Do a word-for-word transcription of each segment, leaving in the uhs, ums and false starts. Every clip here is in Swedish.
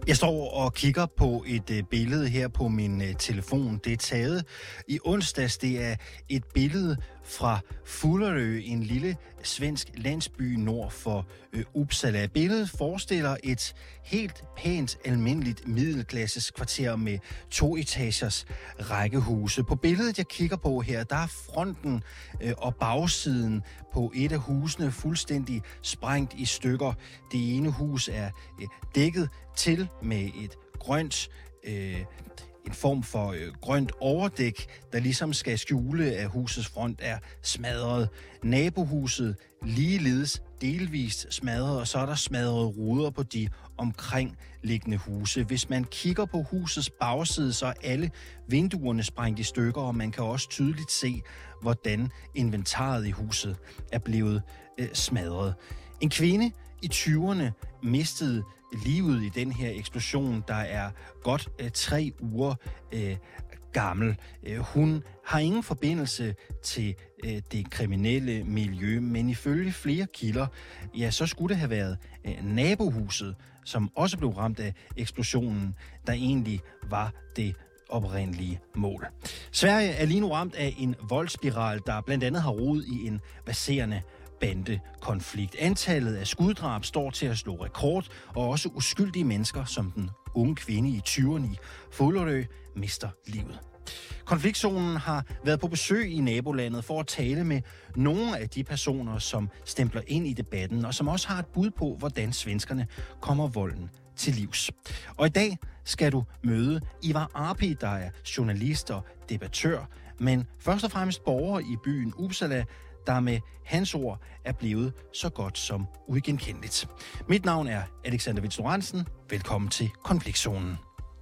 Jeg står og kigger på et øh, billede her på min øh, telefon. Det er taget i onsdags. Det er et billede fra Fullerø, en lille svensk landsby nord for øh, Uppsala. Billedet forestiller et helt pænt, almindeligt middelklasses kvarter med to etagers rækkehuse. På billedet, jeg kigger på her, der er fronten øh, og bagsiden på et af husene fuldstændig sprængt i stykker. Det ene hus er øh, dækket til med et grønt, øh, en form for øh, grønt overdæk, der ligesom skal skjule, at husets front er smadret. Nabohuset ligeledes delvist smadret, og så er der smadret ruder på de omkringliggende huse. Hvis man kigger på husets bagside, så er alle vinduerne sprængt i stykker, og man kan også tydeligt se, hvordan inventaret i huset er blevet øh, smadret. En kvinde i tyverne mistede livet i den her eksplosion, der er godt øh, tre uger øh, gammel. Øh, hun har ingen forbindelse til øh, det kriminelle miljø, men ifølge flere kilder, ja, så skulle det have været øh, nabohuset, som også blev ramt af eksplosionen, der egentlig var det oprindelige mål. Sverige er lige nu ramt af en voldsspiral, der blandt andet har rod i en baserende bandekonflikt. Antallet af skuddrab står til at slå rekord, og også uskyldige mennesker, som den unge kvinde i tyverne i Fullerø, mister livet. Konfliktzonen har været på besøg i nabolandet for at tale med nogle af de personer, som stempler ind i debatten, og som også har et bud på, hvordan svenskerne kommer volden til livs. Og i dag skal du møde Ivar Arpi, der er journalist og debattør, men først og fremmest borger i byen Uppsala, der med hans ord er blevet så godt som uigenkendeligt. Mit navn er Alexander Vils Lorentzen. Velkommen til Konfliktzonen.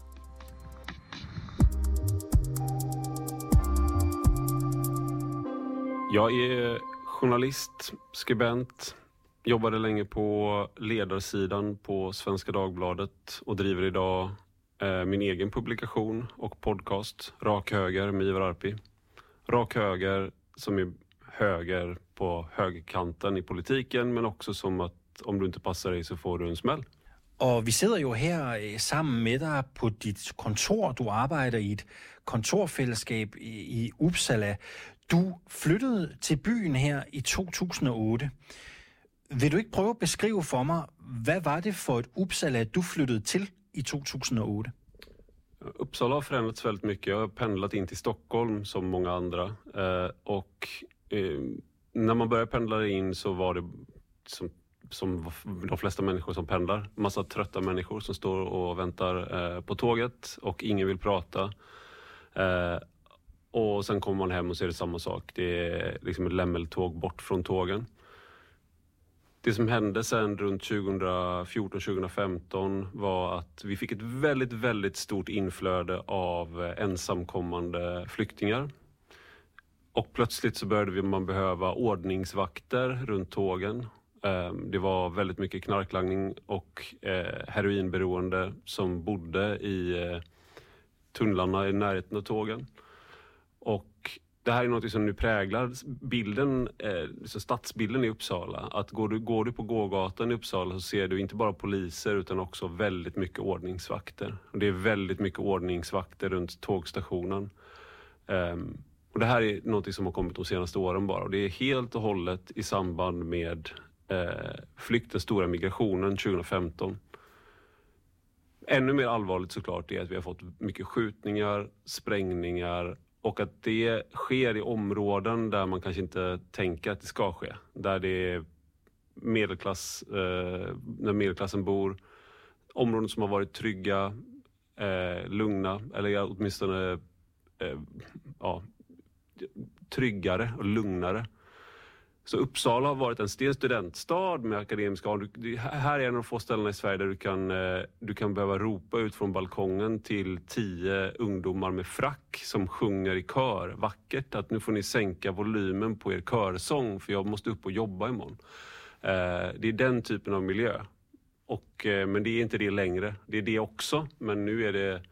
Jag är journalist, skribent, jobbade länge på ledarsidan på Svenska Dagbladet och driver idag eh, min egen publikation och podcast Rak Höger med Ivar Arpi. Rak Höger som är höger på högerkanten i politiken, men också som att om du inte passar dig så får du en smäll. Og vi sidder jo her øh, sammen med dig på dit kontor. Du arbejder i et kontorfællesskab i, i Uppsala. Du flyttede til byen her i to tusind og otte. Vil du ikke prøve at beskrive for mig, hvad var det for et Uppsala, du flyttede til i to tusind og otte? Uppsala har förändrats väldigt mycket. Jag har pendlat in till Stockholm som många andra. Eh, och eh, när man började pendla in så var det som, som de flesta människor som pendlar. Massa trötta människor som står och väntar eh, på tåget och ingen vill prata. Eh, och sen kommer man hem och ser det samma sak. Det är liksom ett lämmeltåg bort från tågen. Det som hände sen runt tjugo fjorton tjugo femton var att vi fick ett väldigt, väldigt stort inflöde av ensamkommande flyktingar. Och plötsligt så började man behöva ordningsvakter runt tågen. Det var väldigt mycket knarklangning och heroinberoende som bodde i tunnlarna i närheten av tågen. Och det här är något som nu präglar bilden, eh, så stadsbilden i Uppsala. Att går du, går du på gågatan i Uppsala så ser du inte bara poliser utan också väldigt mycket ordningsvakter. Och det är väldigt mycket ordningsvakter runt tågstationen. Um, och det här är något som har kommit de senaste åren bara. Och det är helt och hållet i samband med eh, flykten, stora migrationen tjugo femton. Ännu mer allvarligt såklart är att vi har fått mycket skjutningar, sprängningar. Och att det sker i områden där man kanske inte tänker att det ska ske. Där det är medelklass, eh, när medelklassen bor. Områden som har varit trygga, eh, lugna eller åtminstone eh, ja, tryggare och lugnare. Så Uppsala har varit en sten studentstad med akademiska. Här är en av de få ställena i Sverige där du kan, du kan behöva ropa ut från balkongen till tio ungdomar med frack som sjunger i kör vackert att nu får ni sänka volymen på er körsång för jag måste upp och jobba imorgon. Det är den typen av miljö. Och, men det är inte det längre. Det är det också, men nu är det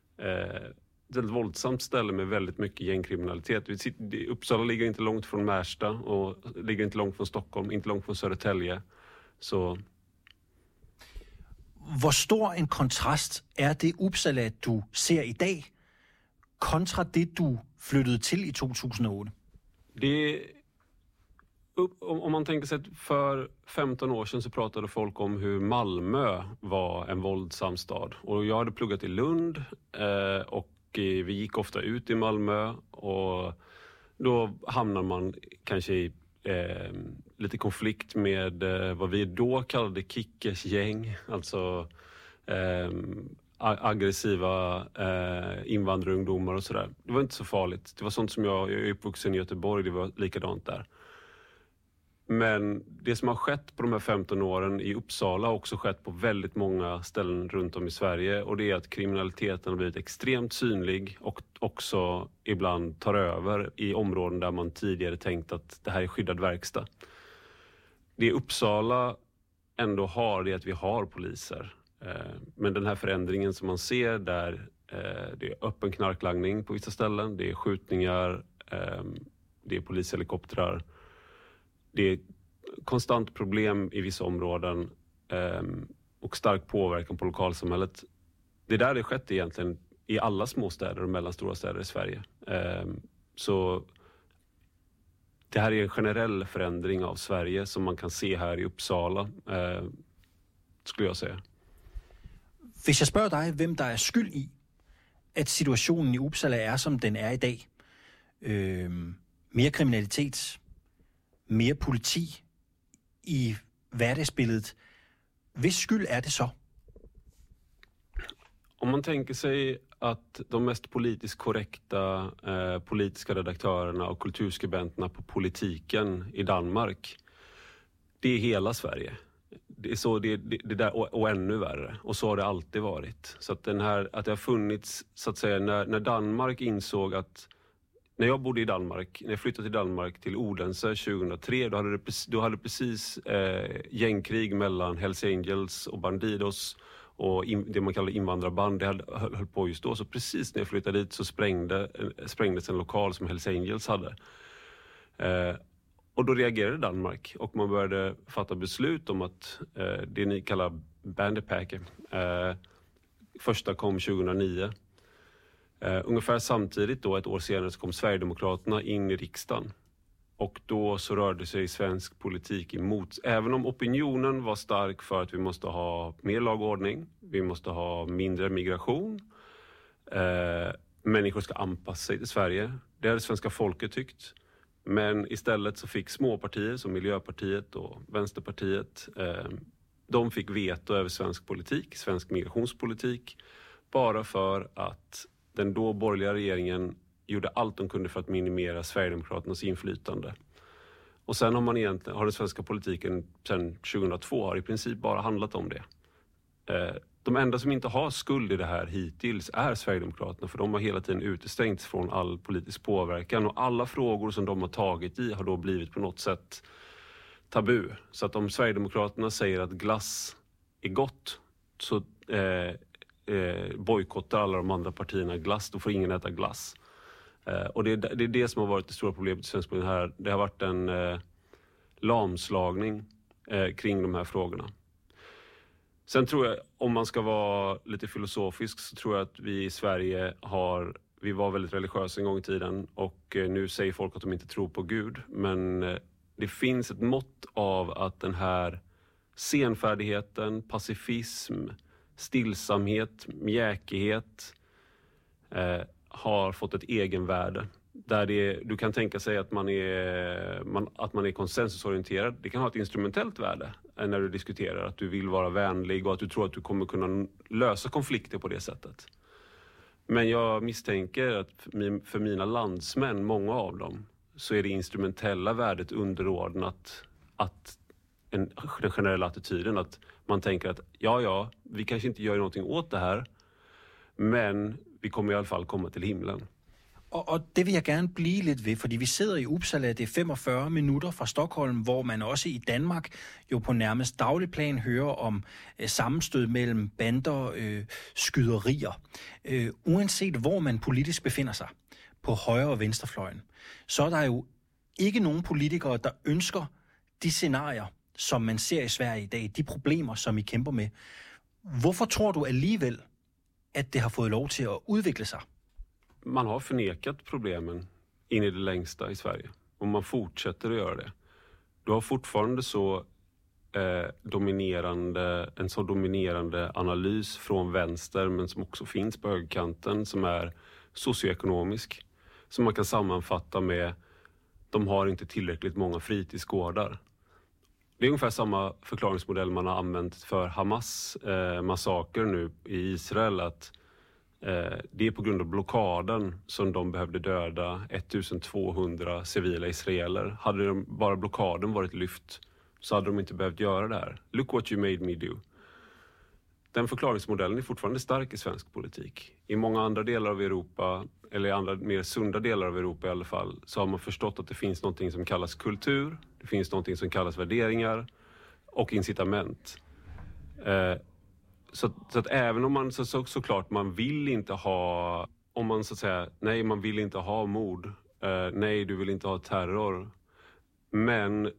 ett våldsamt ställe med väldigt mycket gängkriminalitet. Uppsala ligger inte långt från Märsta och ligger inte långt från Stockholm, inte långt från Södertälje. Så Hvor stor en kontrast er det Uppsala, du ser i dag, kontra det, du flyttede til i to tusind og otte? Det, om man tänker sig att för femton år sedan så pratade folk om hur Malmö var en våldsam stad. Och jag hade pluggat i Lund eh, och vi gick ofta ut i Malmö och då hamnar man kanske i eh, lite konflikt med eh, vad vi då kallade kickersgäng, alltså eh, aggressiva eh, invandrarungdomar och sådär. Det var inte så farligt. Det var sånt som jag, jag är uppvuxen i Göteborg, det var likadant där. Men det som har skett på de här femton åren i Uppsala har också skett på väldigt många ställen runt om i Sverige. Och det är att kriminaliteten har blivit extremt synlig och också ibland tar över i områden där man tidigare tänkt att det här är skyddad verkstad. Det Uppsala ändå har det är att vi har poliser. Men den här förändringen som man ser där, det är öppen knarklangning på vissa ställen, det är skjutningar, det är polishelikoptrar. Det är konstant problem i vissa områden eh, och stark påverkan på lokalsamhället. Det är där det skett egentligen i alla småstäder och mellanstora städer i Sverige. Eh, så det här är en generell förändring av Sverige som man kan se här i Uppsala, eh, skulle jag säga. Hvis jeg spørger dig, hvem der er skyld i, at situationen i Uppsala er, som den er i dag, øh, mere kriminalitet, mere politi i hverdagsbilledet. Hvis skyld är det så? Om man tänker sig att de mest politiskt korrekta eh, politiska redaktörerna och kulturskribenterna på politiken i Danmark, det är hela Sverige. Det är så det, det, det där och, och ännu värre. Och så har det alltid varit. Så att den här att det har funnits, så att säga, när, när Danmark insåg att när jag bodde i Danmark, när jag flyttade till Danmark till Odense tjugohundratre, då hade det, då hade precis eh, gängkrig mellan Hells Angels och Bandidos och in, det man kallar invandrarband, det hade, höll, höll på just då. Så precis när jag flyttade dit så sprängde, sprängdes en lokal som Hells Angels hade. Eh, och då reagerade Danmark och man började fatta beslut om att eh, det ni kallar bandepacker, eh, första kom tjugohundranio. Uh, ungefär samtidigt då, ett år senare, så kom Sverigedemokraterna in i riksdagen. Och då så rörde sig svensk politik emot. Även om opinionen var stark för att vi måste ha mer lagordning, vi måste ha mindre migration, uh, människor ska anpassa sig till Sverige. Det hade svenska folket tyckt. Men istället så fick småpartier som Miljöpartiet och Vänsterpartiet, uh, de fick veto över svensk politik, svensk migrationspolitik, bara för att den då borgerliga regeringen gjorde allt de kunde för att minimera Sverigedemokraternas inflytande. Och sen har man egentligen, har den svenska politiken sedan tjugohundratvå har i princip bara handlat om det. Eh, de enda som inte har skuld i det här hittills är Sverigedemokraterna, för de har hela tiden utestängts från all politisk påverkan och alla frågor som de har tagit i har då blivit på något sätt tabu. Så att om Sverigedemokraterna säger att glass är gott, så eh, Eh, bojkottar alla de andra partierna glass, då får ingen äta glass. Eh, och det, det är det som har varit det stora problemet i svensk politik här. Det har varit en eh, lamslagning eh, kring de här frågorna. Sen tror jag, om man ska vara lite filosofisk, så tror jag att vi i Sverige har, vi var väldigt religiösa en gång i tiden och eh, nu säger folk att de inte tror på Gud. Men eh, det finns ett mått av att den här senfärdigheten, pacifism, stillsamhet, mjäkighet eh, har fått ett egenvärde. Där det, du kan tänka sig att man, är, man, att man är konsensusorienterad. Det kan ha ett instrumentellt värde eh, när du diskuterar. Att du vill vara vänlig och att du tror att du kommer kunna lösa konflikter på det sättet. Men jag misstänker att för, för mina landsmän, många av dem, så är det instrumentella värdet underordnat att en, den generella attityden, att man tänker att ja, ja, vi kanske inte gör någonting åt det här, men vi kommer i alla fall komma till himlen. Og, og det vil jeg gerne blive lidt ved, fordi vi sidder i Uppsala, det er femogfyrre minutter fra Stockholm, hvor man også i Danmark jo på nærmest daglig plan hører om øh, sammenstød mellem bander, øh, skyderier. Øh, uanset hvor man politisk befinder sig, på højre- og venstrefløjen, så er der jo ikke nogen politikere, der ønsker de scenarier, som man ser i Sverige i dag, de problemer, som I kæmper med. Hvorfor tror du alligevel, at det har fået lov til at udvikle sig? Man har förnekat problemen in i det längsta i Sverige. Och man fortsätter att göra det. Du har fortfarande så eh, dominerande, en så dominerande analys från vänster, men som också finns på högerkanten, som är socioekonomisk. Som man kan sammanfatta med: de har inte tillräckligt många fritidsgårdar. Det är ungefär samma förklaringsmodell man har använt för Hamas eh, massaker nu i Israel. Att eh, det är på grund av blockaden som de behövde döda ettusentvåhundra civila israeler. Hade de, bara blockaden varit lyft, så hade de inte behövt göra det här. Look what you made me do. Den förklaringsmodellen är fortfarande stark i svensk politik. I många andra delar av Europa, eller i andra mer sunda delar av Europa i alla fall, så har man förstått att det finns något som kallas kultur, det finns något som kallas värderingar och incitament. Eh, så, så att även om man så, så, såklart man vill inte ha, om man så att säga, nej man vill inte ha mord, eh, nej du vill inte ha terror, men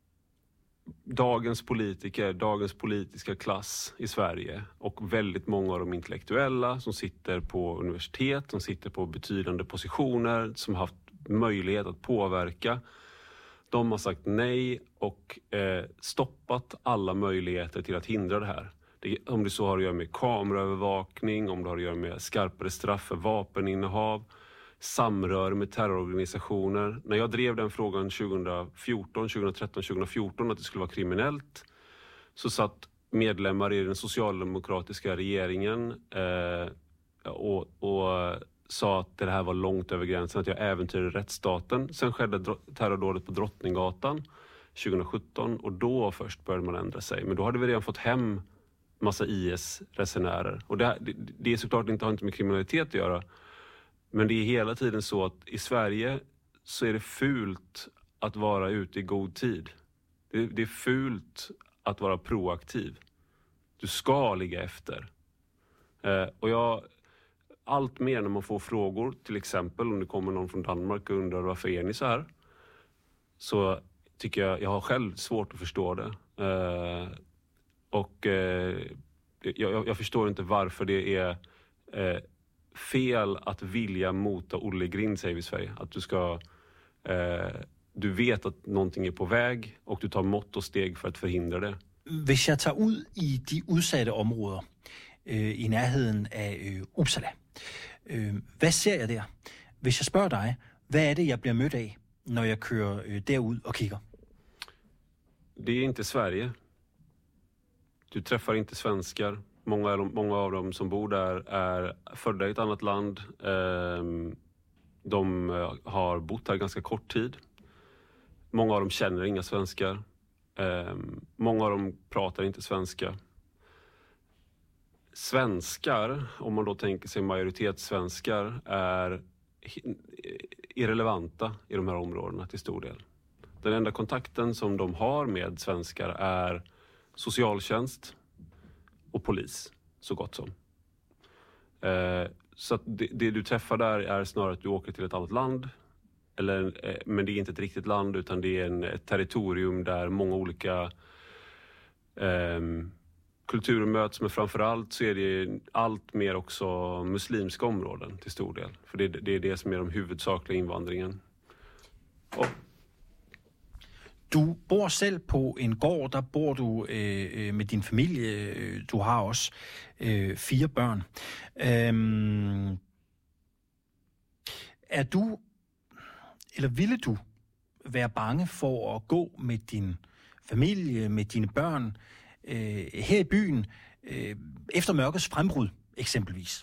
dagens politiker, dagens politiska klass i Sverige och väldigt många av de intellektuella som sitter på universitet, som sitter på betydande positioner, som har haft möjlighet att påverka, de har sagt nej och eh, stoppat alla möjligheter till att hindra det här. Det, om det så har att göra med kameraövervakning, om det har att göra med skarpare straff för vapeninnehav, samrör med terrororganisationer. När jag drev den frågan tjugofjorton, tjugotretton, tjugofjorton att det skulle vara kriminellt, så satt medlemmar i den socialdemokratiska regeringen eh, och, och sa att det här var långt över gränsen, att jag äventyrade rättsstaten. Sen skedde terrordådet på Drottninggatan tjugosjutton och då först började man ändra sig. Men då hade vi redan fått hem massa I S-resenärer. Och det, det, det är såklart inte, har inte med kriminalitet att göra. Men det är hela tiden så att i Sverige så är det fult att vara ute i god tid. Det, det är fult att vara proaktiv. Du ska ligga efter. Eh, och jag, allt mer när man får frågor, till exempel om det kommer någon från Danmark och undrar varför är ni så här, så tycker jag, jag har själv svårt att förstå det. Eh, och eh, jag, jag förstår inte varför det är eh, fel att vilja mota Olle Grind, säger vi i Sverige. Att du ska, eh, du vet att någonting är på väg och du tar mått och steg för att förhindra det. Hvis jeg tager ud i de udsatte områder øh, i nærheden af øh, Uppsala, øh, hvad ser jeg der? Hvis jeg spørger dig, hvad er det, jeg bliver mødt af, når jeg kører øh, derud og kigger? Det är inte Sverige. Du träffar inte svenskar. Många av dem, många av dem som bor där är födda i ett annat land. De har bott här ganska kort tid. Många av dem känner inga svenskar. Många av dem pratar inte svenska. Svenskar, om man då tänker sig majoritetssvenskar, är irrelevanta i de här områdena till stor del. Den enda kontakten som de har med svenskar är socialtjänst och polis, så gott som. Eh, så att det, det du träffar där är snarare att du åker till ett annat land. Eller, eh, men det är inte ett riktigt land, utan det är en, ett territorium där många olika eh, kulturer möts. Men framförallt så är det allt mer också muslimska områden till stor del. För det, det är det som är de huvudsakliga invandringen. Och Du bor selv på en gård, der bor du øh, med din familie. Du har også øh, fire børn. Øhm, er du, eller ville du være bange for at gå med din familie, med dine børn øh, her i byen, øh, efter mørkets frembrud eksempelvis?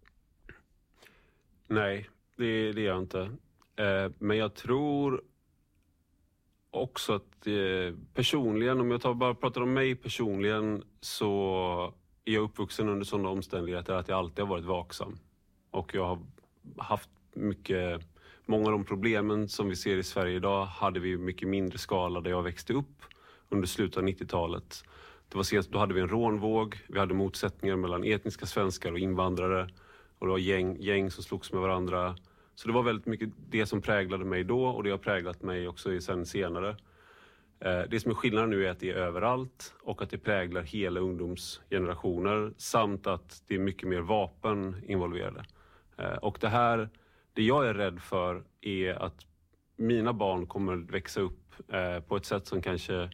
Nej, det, det är jag inte. Eh, men jag tror också att eh, personligen, om jag tar, bara pratar om mig personligen, så är jag uppvuxen under sådana omständigheter att jag alltid har varit vaksam. Och jag har haft mycket, många av de problemen som vi ser i Sverige idag hade vi mycket mindre skala där jag växte upp under slutet av nittiotalet. Det var senast, då hade vi en rånvåg, vi hade motsättningar mellan etniska svenskar och invandrare, och det var gäng, gäng som slogs med varandra. Så det var väldigt mycket det som präglade mig då, och det har präglat mig också sen senare. Det som är skillnaden nu är att det är överallt och att det präglar hela ungdomsgenerationer samt att det är mycket mer vapen involverade. Och det här, det jag är rädd för är att mina barn kommer växa upp på ett sätt som kanske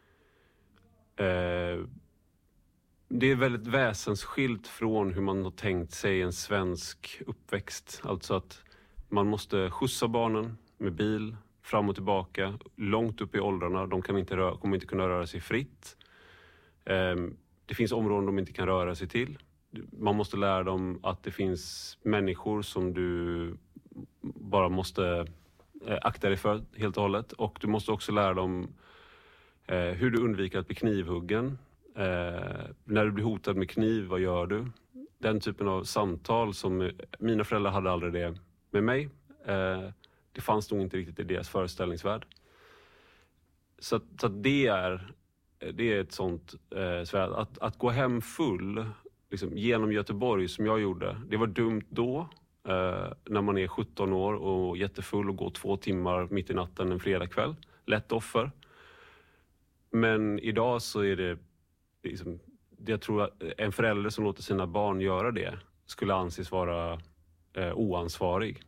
det är väldigt väsensskilt från hur man har tänkt sig en svensk uppväxt. Alltså att man måste skjutsa barnen med bil fram och tillbaka, långt upp i åldrarna. De kan inte röra, kommer inte kunna röra sig fritt. Det finns områden de inte kan röra sig till. Man måste lära dem att det finns människor som du bara måste akta dig för helt och hållet. Och du måste också lära dem hur du undviker att bli knivhuggen. Eh, när du blir hotad med kniv, vad gör du? Den typen av samtal som mina föräldrar hade aldrig det med mig. Eh, det fanns nog inte riktigt i deras föreställningsvärld. Så, att, så att det är det är ett sånt eh, svärd. Att, att gå hem full liksom, genom Göteborg som jag gjorde, det var dumt då. Eh, när man är sjutton år och jättefull och går två timmar mitt i natten en fredagkväll. Lätt offer. Men idag så är det liksom, jag tror att en förälder som låter sina barn göra det skulle anses vara eh, oansvarig.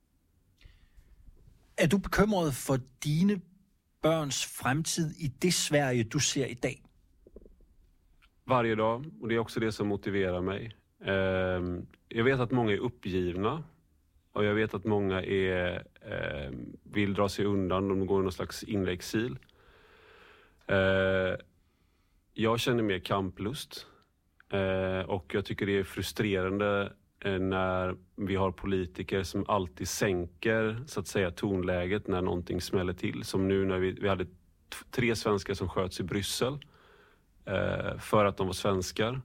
Är du bekymrad för dine børns fremtid i det Sverige du ser idag? Varje dag, och det är också det som motiverar mig. Eh, jag vet att många är uppgivna och jag vet att många är, eh, vill dra sig undan, de går i någon slags inre exil. Eh, Jag känner mer kamplust eh, och jag tycker det är frustrerande eh, när vi har politiker som alltid sänker så att säga tonläget när någonting smäller till. Som nu när vi, vi hade t- tre svenskar som sköts i Bryssel eh, för att de var svenskar.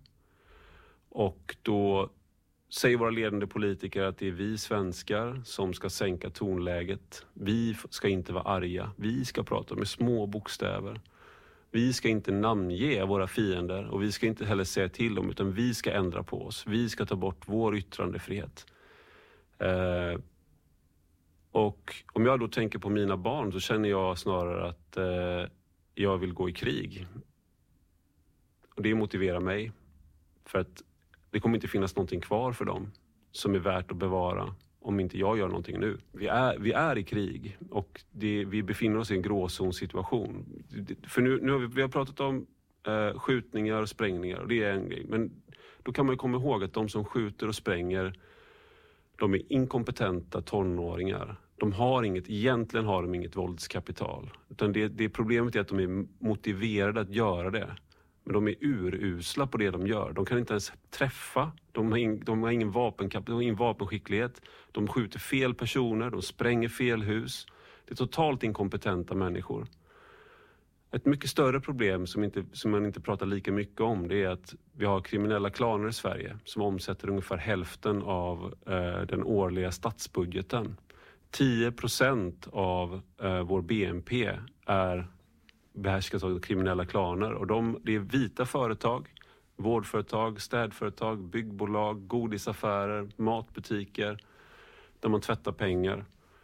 Och då säger våra ledande politiker att det är vi svenskar som ska sänka tonläget. Vi ska inte vara arga, vi ska prata med små bokstäver. Vi ska inte namnge våra fiender och vi ska inte heller säga till dem utan vi ska ändra på oss. Vi ska ta bort vår yttrandefrihet. Eh, och om jag då tänker på mina barn så känner jag snarare att eh, jag vill gå i krig. Och det motiverar mig. För att det kommer inte finnas någonting kvar för dem som är värt att bevara om inte jag gör någonting nu. Vi är, vi är i krig och det, vi befinner oss i en gråzonsituation. För nu, nu har vi, vi har pratat om eh, skjutningar och sprängningar och det är en grej. Men då kan man ju komma ihåg att de som skjuter och spränger, de är inkompetenta tonåringar. De har inget, egentligen har de inget våldskapital. Utan det, det problemet är att de är motiverade att göra det. Men de är urusla på det de gör. De kan inte ens träffa. De har, in, de har ingen vapenkap- de har ingen vapenskicklighet. De skjuter fel personer. De spränger fel hus. Det är totalt inkompetenta människor. Ett mycket större problem som, inte, som man inte pratar lika mycket om, det är att vi har kriminella klaner i Sverige som omsätter ungefär hälften av eh, den årliga statsbudgeten. tio procent av eh, vår B N P är behärskas av kriminella klaner. Och de, det är vita företag, vårdföretag, städföretag, byggbolag, godisaffärer, matbutiker där man tvättar pengar.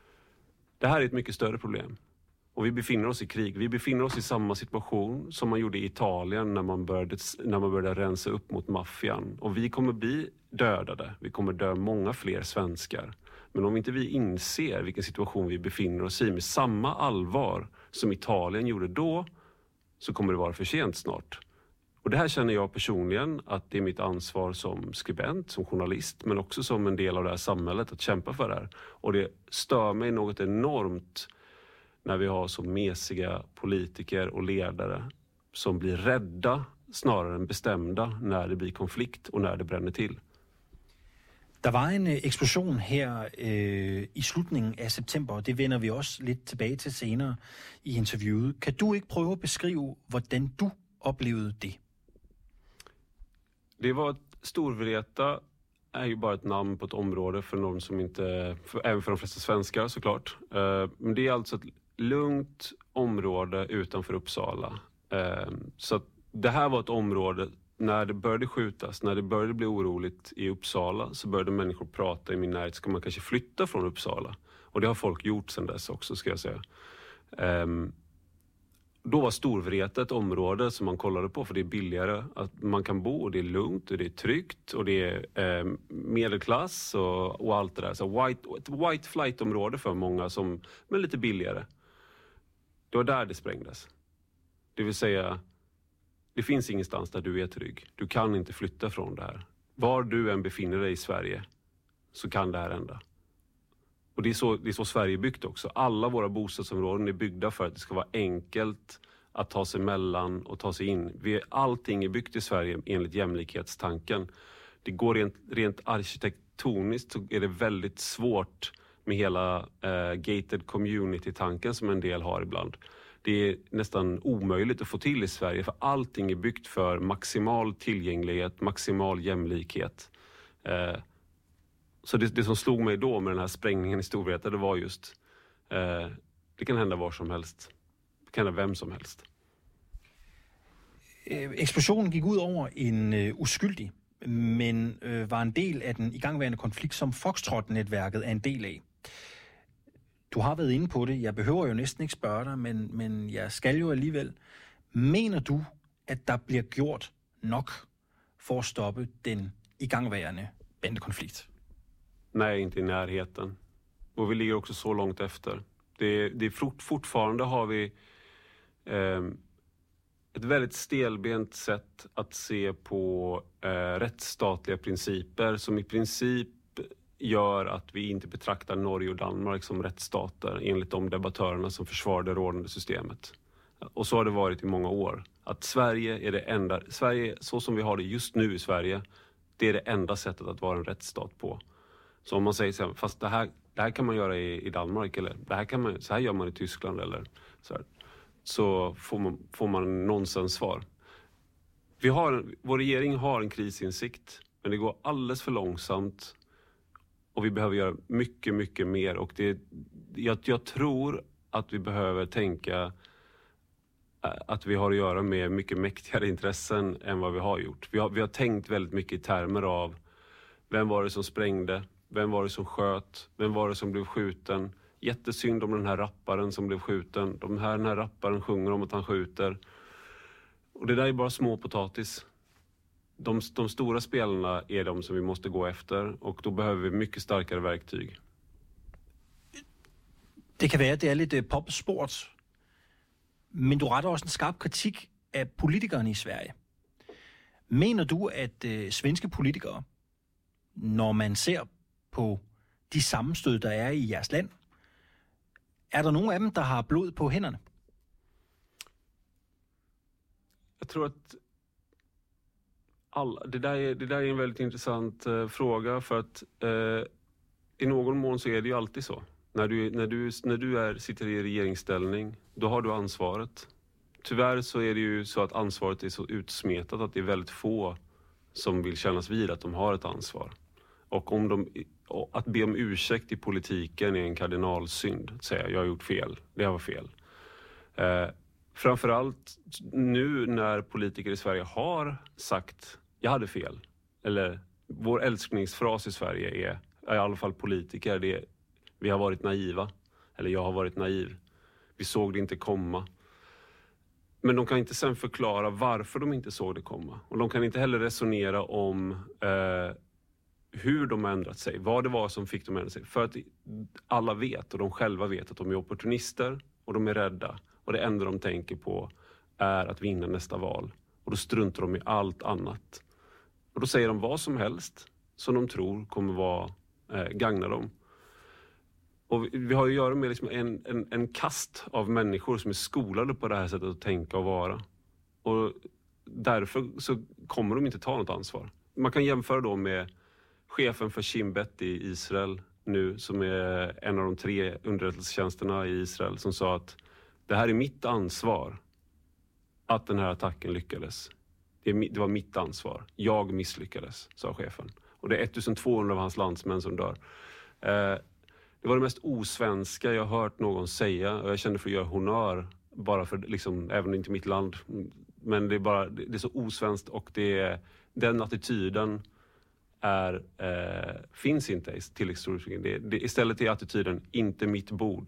Det här är ett mycket större problem. Och vi befinner oss i krig. Vi befinner oss i samma situation som man gjorde i Italien när man började, när man började rensa upp mot maffian. Och vi kommer bli dödade. Vi kommer dö många fler svenskar. Men om inte vi inser vilken situation vi befinner oss i med samma allvar som Italien gjorde då, så kommer det vara för sent snart. Och det här känner jag personligen att det är mitt ansvar som skribent, som journalist, men också som en del av det här samhället att kämpa för det här. Och det stör mig något enormt när vi har så mesiga politiker och ledare som blir rädda snarare än bestämda när det blir konflikt och när det bränner till. Der var en eksplosion her øh, i slutningen af september, og det vender vi også lidt tilbage til senere i interviewet. Kan du ikke prøve at beskrive, hvordan du oplevede det? Det var ett Storvreta är ju bara ett namn på ett område för någon som inte, för, även för de flesta svenskar såklart. Uh, men det är alltså ett lugnt område utanför Uppsala. Uh, så att det här var ett område. När det började skjutas, när det började bli oroligt i Uppsala så började människor prata i min närhet. Ska man kanske flytta från Uppsala? Och det har folk gjort sedan dess också, ska jag säga. Um, Då var Storvreta ett område som man kollade på för det är billigare. Att man kan bo och det är lugnt och det är tryggt och det är eh, medelklass och, och allt det där. Så white, ett white flight-område för många som, men lite billigare. Det var där det sprängdes. Det vill säga, det finns ingenstans där du är trygg. Du kan inte flytta från det här. Var du än befinner dig i Sverige så kan det här hända. Och det är, så, det är så Sverige är byggt också. Alla våra bostadsområden är byggda för att det ska vara enkelt att ta sig mellan och ta sig in. Vi, allting är byggt i Sverige enligt jämlikhetstanken. Det går rent, rent arkitektoniskt så är det väldigt svårt med hela eh, gated community-tanken som en del har ibland. Det är nästan omöjligt att få till i Sverige för allting är byggt för maximal tillgänglighet, maximal jämlikhet. Eh, Så det, det som slog mig då med den här sprängningen i Storvreta, det var just, eh, det kan hända var som helst. Det kan hända vem som helst. Eksplosionen gik ud over en øh, uskyldig, men øh, var en del af den igangværende konflikt, som Foxtrot-netværket er en del af. Du har været inde på det. Jeg behøver jo næsten ikke spørge dig, men, men jeg skal jo alligevel. Mener du, at der bliver gjort nok for at stoppe den igangværende bandekonflikt? Nej, inte i närheten. Och vi ligger också så långt efter. Det, det är fort, fortfarande har vi eh, ett väldigt stelbent sätt att se på eh, rättsstatliga principer som i princip gör att vi inte betraktar Norge och Danmark som rättsstater enligt de debattörerna som försvarar det rådande systemet. Och så har det varit i många år. Att Sverige är det enda, Sverige så som vi har det just nu i Sverige, det är det enda sättet att vara en rättsstat på. Så om man säger så här, fast det här, det här kan man göra i, i Danmark eller det här kan man, så här gör man i Tyskland eller så här, så får man, får man nonsens svar. Vi har, vår regering har en krisinsikt, men det går alldeles för långsamt och vi behöver göra mycket, mycket mer. Och det, jag, jag tror att vi behöver tänka att vi har att göra med mycket mäktigare intressen än vad vi har gjort. Vi har, vi har tänkt väldigt mycket i termer av vem var det som sprängde? Vem var det som sköt? Vem var det som blev skjuten? Jättesynd om den här rapparen som blev skjuten. De här, den här rapparen sjunger om att han skjuter. Och det där är bara små potatis. De, de stora spelarna är de som vi måste gå efter. Och då behöver vi mycket starkare verktyg. Det kan være, at det er lidt popsport. Men du retter også en skarp kritik af politikerne i Sverige. Mener du, at øh, svenske politikere, når man ser på de sammenstød, der er i jeres land, er der nogen af dem, der har blod på hænderne? Jag tror att alla, det, där är, det där är en väldigt intressant uh, fråga för att uh, i någon mån så är det ju alltid så. När du, när du, när du är, sitter i regeringsställning, då har du ansvaret. Tyvärr så är det ju så att ansvaret är så utsmetat att det är väldigt få som vill kännas vid att de har ett ansvar. Och om de, att be om ursäkt i politiken är en kardinalsynd. Att säga, jag har gjort fel, det var fel. Eh, framförallt nu när politiker i Sverige har sagt, jag hade fel. Eller vår älskningsfras i Sverige är, i alla fall politiker, det är, vi har varit naiva. Eller jag har varit naiv. Vi såg det inte komma. Men de kan inte sen förklara varför de inte såg det komma. Och de kan inte heller resonera om eh, hur de har ändrat sig. Vad det var som fick dem att ändra sig. För att alla vet och de själva vet att de är opportunister och de är rädda. Och det enda de tänker på är att vinna nästa val. Och då struntar de i allt annat. Och då säger de vad som helst som de tror kommer vara, eh, gagna dem. Och vi har ju att göra med liksom en, en, en kast av människor som är skolade på det här sättet att tänka och vara. Och därför så kommer de inte ta något ansvar. Man kan jämföra då med chefen för Shin Bet i Israel nu, som är en av de tre underrättelsetjänsterna i Israel, som sa att det här är mitt ansvar att den här attacken lyckades. Det, är, det var mitt ansvar. Jag misslyckades, sa chefen. Och det är ettusentvåhundra av hans landsmän som dör. Eh, Det var det mest osvenska jag hört någon säga, och jag kände för att göra honör bara för, liksom, även inte mitt land, men det är bara, det är så osvenskt, och det är, den attityden är, eh, finns inte i tilläggshistorien. Det, det, istället är attityden inte mitt bord.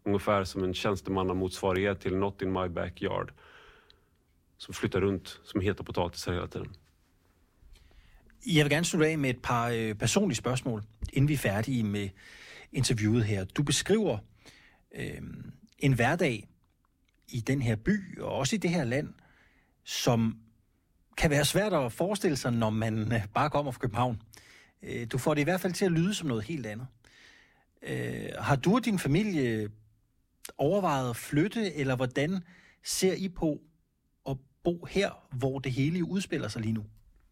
Ungefär som en tjänstemannamotsvarighet till Not in my backyard. Som flyttar runt, som heter potatisar hela tiden. Jeg vil gerne slutte af med et par øh, personlige spørgsmål, inden vi er færdige med interviewet her. Du beskriver øh, en hverdag i den her by, og også i det her land, som kan være svært at forestille sig, når man øh, bare kommer fra København. Øh, du får det i hvert fald til at lyde som noget helt andet. Øh, har du og din familie overvejet at flytte, eller hvordan ser I på at bo her, hvor det hele udspiller sig lige nu?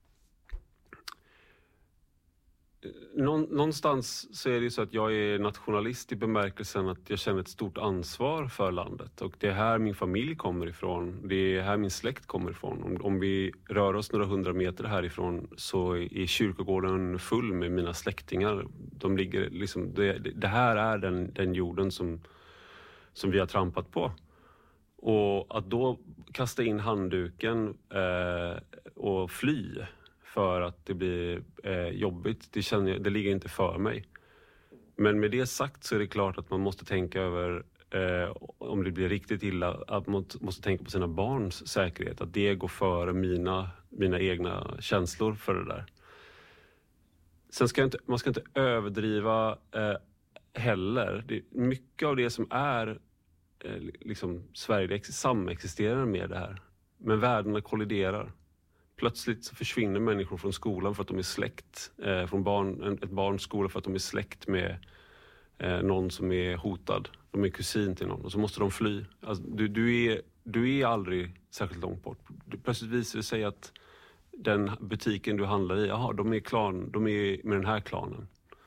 Någonstans så är det så att jag är nationalist i bemärkelsen att jag känner ett stort ansvar för landet. Och det är här min familj kommer ifrån. Det är här min släkt kommer ifrån. Om, om vi rör oss några hundra meter härifrån så är kyrkogården full med mina släktingar. De ligger liksom, det, det här är den, den jorden som, som vi har trampat på. Och att då kasta in handduken eh, och fly för att det blir eh, jobbigt, det, känner jag, det ligger inte för mig. Men med det sagt så är det klart att man måste tänka över, eh, om det blir riktigt illa, att man måste tänka på sina barns säkerhet. Att det går före mina, mina egna känslor för det där. Sen ska inte, man ska inte överdriva eh, heller. Det, mycket av det som är eh, liksom Sverige samexisterar med det här. Men värdena kolliderar. Plötsligt så försvinner människor från skolan för att de är släkt. Eh, från barn, ett barns skola för att de är släkt med eh, någon som är hotad. De är kusin till någon och så måste de fly. Alltså, du, du, är, du är aldrig särskilt långt bort. Du, plötsligt visar det sig att den butiken du handlar i, aha, de är, klan, de är med den här klanen.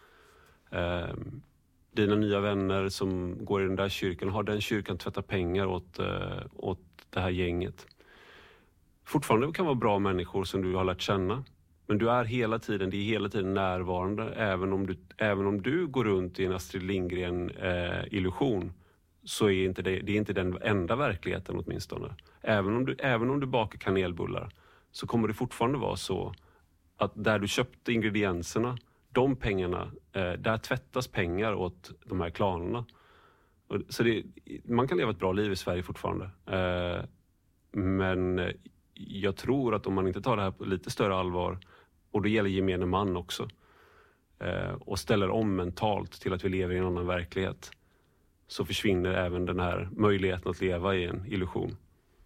Eh, dina nya vänner som går i den där kyrkan, har den kyrkan tvättat pengar åt, eh, åt det här gänget. Fortfarande kan vara bra människor som du har lärt känna. Men du är hela tiden, det är hela tiden närvarande. Även om du, även om du går runt i en Astrid Lindgren-illusion eh, så är inte det, det är inte den enda verkligheten åtminstone. Även om, du, även om du bakar kanelbullar så kommer det fortfarande vara så att där du köpte ingredienserna, de pengarna, eh, där tvättas pengar åt de här klanerna. Och, så det, man kan leva ett bra liv i Sverige fortfarande. Eh, men jag tror att om man inte tar det här på lite större allvar, och det gäller gemene man också, eh, och ställer om mentalt till att vi lever i en annan verklighet, så försvinner även den här möjligheten att leva i en illusion.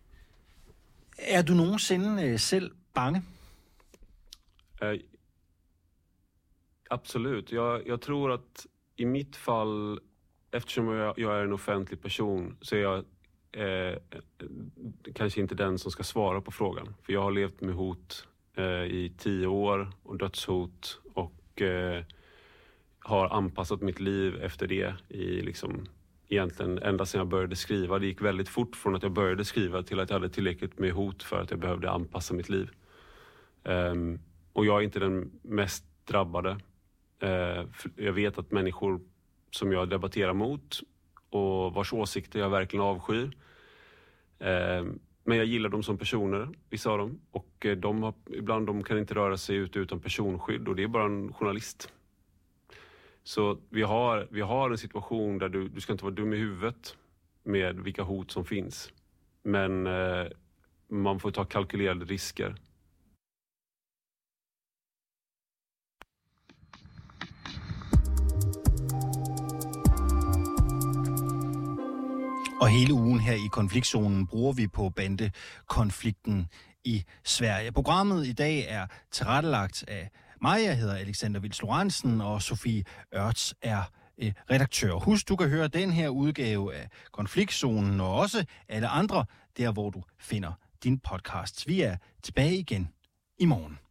Er du nogensinde selv bange? Eh, absolut. Jag, jag tror att i mitt fall, eftersom jag, jag är en offentlig person, så är jag Eh, kanske inte den som ska svara på frågan. För jag har levt med hot eh, i tio år och dödshot och eh, har anpassat mitt liv efter det i liksom egentligen ända sedan jag började skriva. Det gick väldigt fort från att jag började skriva till att jag hade tillräckligt med hot för att jag behövde anpassa mitt liv. Eh, och jag är inte den mest drabbade. Eh, jag vet att människor som jag debatterar mot och vars åsikter jag verkligen avskyr. Eh, men jag gillar dem som personer, vissa av dem. Och eh, de har, ibland de kan inte röra sig ut utan personskydd, och det är bara en journalist. Så vi har, vi har en situation där du, du ska inte vara dum i huvudet med vilka hot som finns. Men eh, man får ta kalkylerade risker. Og hele ugen her i konfliktzonen bruger vi på bandekonflikten i Sverige. Programmet i dag er tilrettelagt af mig, jeg hedder Alexander Vils Lorentzen, og Sofie Ørts er eh, redaktør. Husk, du kan høre den her udgave af konfliktzonen og også alle andre, der hvor du finder din podcasts. Vi er tilbage igen i morgen.